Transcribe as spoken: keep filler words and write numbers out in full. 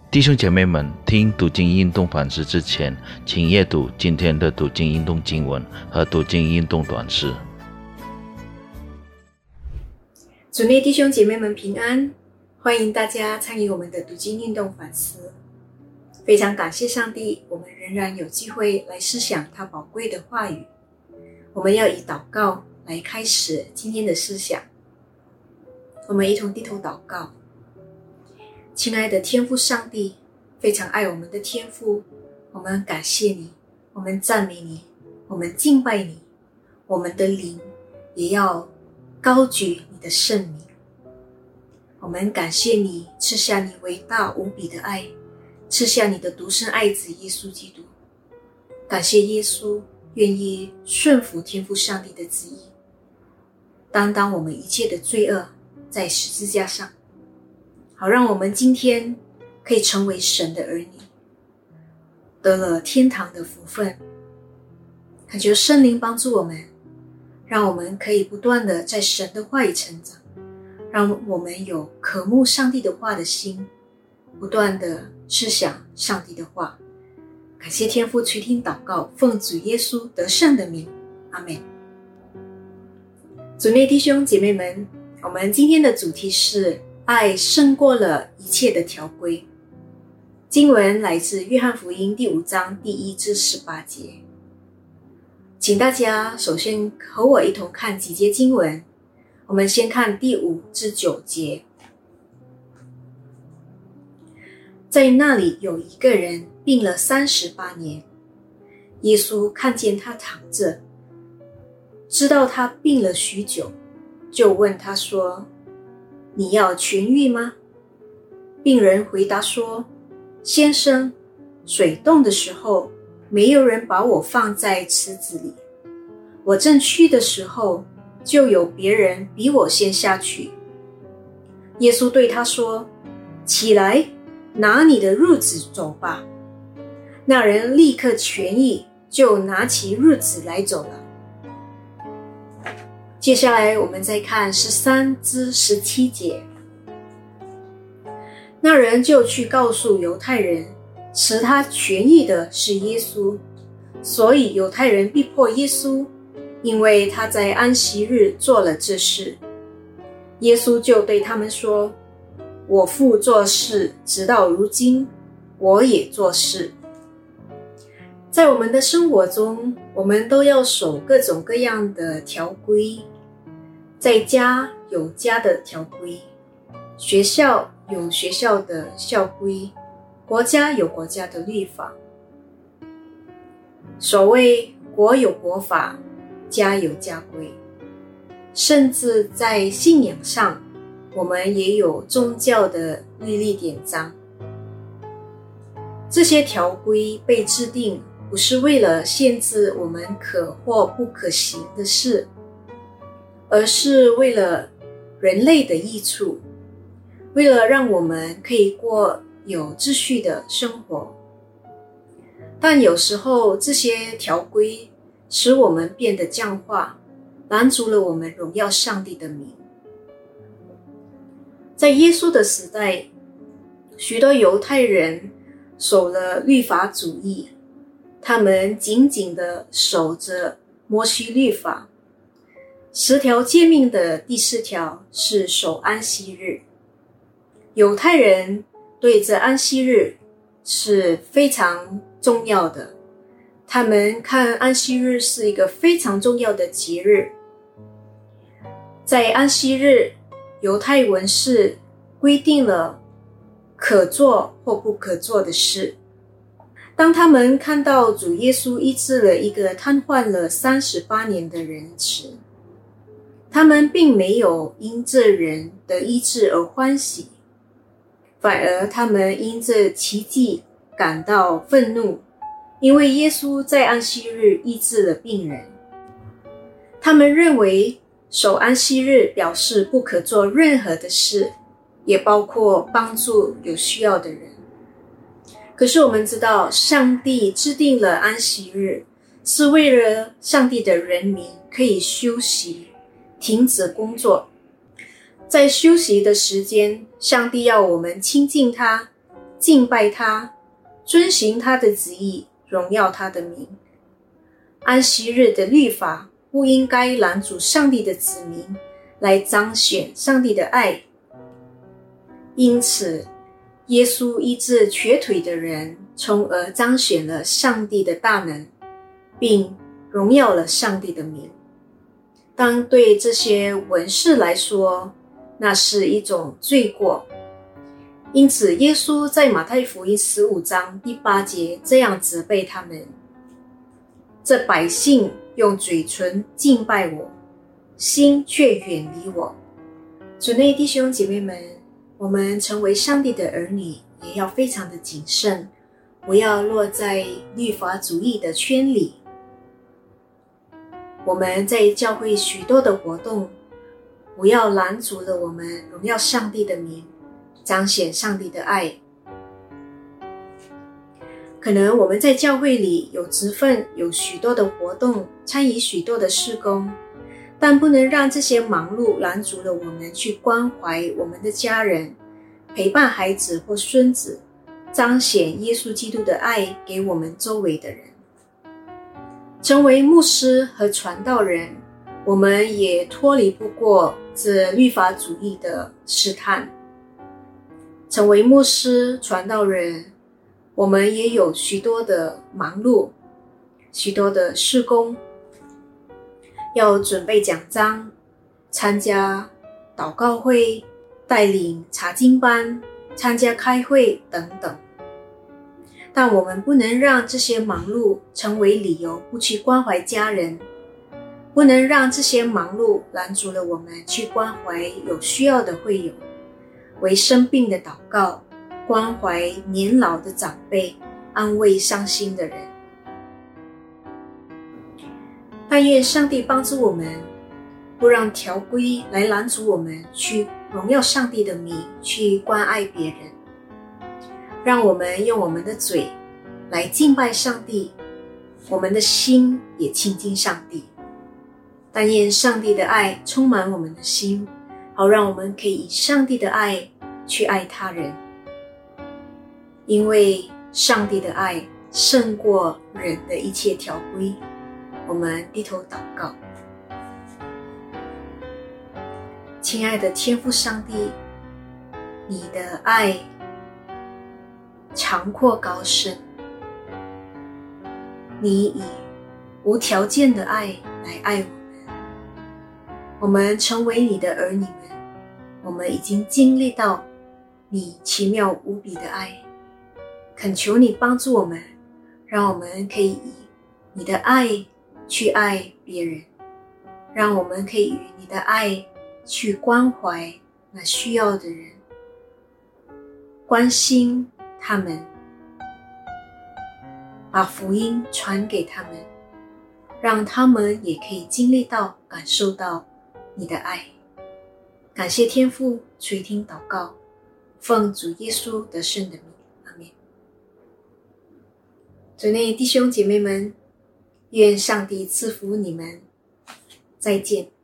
弟兄姐妹们，听读经运动反思之前，请阅读今天的读经运动经文和读经运动短诗。 主内弟兄姐妹们平安，欢迎大家参与我们的读经运动反思。非常感谢上帝，我们仍然有机会来思想他宝贵的话语。我们要以祷告来开始今天的思想。我们一同低头祷告。亲爱的天父上帝，非常爱我们的天父，我们感谢你，我们赞美你，我们敬拜你，我们的灵也要高举你的圣名。我们感谢你赐下你伟大无比的爱，赐下你的独生爱子耶稣基督。感谢耶稣愿意顺服天父上帝的旨意，担当我们一切的罪恶，在十字架上，好让我们今天可以成为神的儿女，得了天堂的福分。恳求圣灵帮助我们，让我们可以不断的在神的话语成长，让我们有渴慕上帝的话的心，不断的思想上帝的话。感谢天父垂听祷告，奉主耶稣得胜的名，阿们。主内弟兄姐妹们，我们今天的主题是爱胜过了一切的条规。经文来自约翰福音第五章第一至十八节。请大家首先和我一同看几节经文。我们先看第五至九节。在那里有一个人病了三十八年，耶稣看见他躺着，知道他病了许久，就问他说：你要痊愈吗？病人回答说：先生，水动的时候，没有人把我放在池子里，我正去的时候，就有别人比我先下去。耶稣对他说：起来，拿你的褥子走吧。那人立刻痊愈，就拿起褥子来走了。接下来我们再看十三至十七节。那人就去告诉犹太人，使他痊愈的是耶稣，所以犹太人逼迫耶稣，因为他在安息日做了这事。耶稣就对他们说：我父做事，直到如今，我也做事。在我们的生活中，我们都要守各种各样的条规。在家有家的条规，学校有学校的校规，国家有国家的律法。所谓国有国法，家有家规。甚至在信仰上，我们也有宗教的律例典章。这些条规被制定，不是为了限制我们可或不可行的事，而是为了人类的益处，为了让我们可以过有秩序的生活。但有时候这些条规使我们变得僵化，拦阻了我们荣耀上帝的名。在耶稣的时代，许多犹太人守了律法主义，他们紧紧地守着摩西律法。十条诫命的第四条是守安息日。犹太人对这安息日是非常重要的，他们看安息日是一个非常重要的节日。在安息日，犹太文士规定了可做或不可做的事。当他们看到主耶稣医治了一个瘫痪了三十八年的人时，他们并没有因这人的医治而欢喜，反而他们因这奇迹感到愤怒，因为耶稣在安息日医治了病人。他们认为守安息日表示不可做任何的事，也包括帮助有需要的人。可是我们知道，上帝制定了安息日，是为了上帝的人民可以休息，停止工作。在休息的时间，上帝要我们亲近他， 敬拜他，遵行他的旨意，荣耀他的名。安息日的律法不应该拦阻上帝的子民来彰显上帝的爱，因此耶稣医治瘸腿的人，从而彰显了上帝的大能，并荣耀了上帝的名。当对这些文士来说，那是一种罪过。因此耶稣在马太福音十五章第八节这样责备他们：这百姓用嘴唇敬拜我，心却远离我。主内弟兄姐妹们，我们成为上帝的儿女，也要非常的谨慎，不要落在律法主义的圈里。我们在教会许多的活动，不要拦阻了我们荣耀上帝的名，彰显上帝的爱。可能我们在教会里有职分，有许多的活动，参与许多的事工，但不能让这些忙碌拦阻了我们去关怀我们的家人，陪伴孩子或孙子，彰显耶稣基督的爱给我们周围的人。成为牧师和传道人，我们也脱离不过这律法主义的试探。成为牧师、传道人，我们也有许多的忙碌，许多的事工，要准备讲章，参加祷告会，带领查经班，参加开会等等。但我们不能让这些忙碌成为理由不去关怀家人，不能让这些忙碌拦阻了我们去关怀有需要的会友，为生病的祷告，关怀年老的长辈，安慰伤心的人。但愿上帝帮助我们，不让条规来拦阻我们去荣耀上帝的名，去关爱别人。让我们用我们的嘴来敬拜上帝，我们的心也亲近上帝。但愿上帝的爱充满我们的心，好让我们可以以上帝的爱去爱他人。因为上帝的爱胜过人的一切条规。我们低头祷告。亲爱的天父上帝，你的爱长阔高深，你以无条件的爱来爱我们。我们成为你的儿女们，我们已经经历到你奇妙无比的爱。恳求你帮助我们，让我们可以以你的爱去爱别人，让我们可以以你的爱去关怀那需要的人，关心他们，把福音传给他们，让他们也可以经历到、感受到你的爱。感谢天父垂听祷告，奉主耶稣得胜的名，阿们。主内弟兄姐妹们，愿上帝赐福你们，再见。